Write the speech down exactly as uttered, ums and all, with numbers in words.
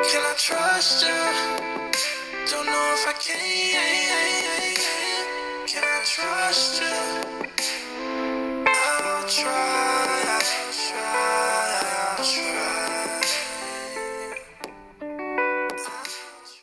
Can I trust you? Don't know if I can. Can I trust you?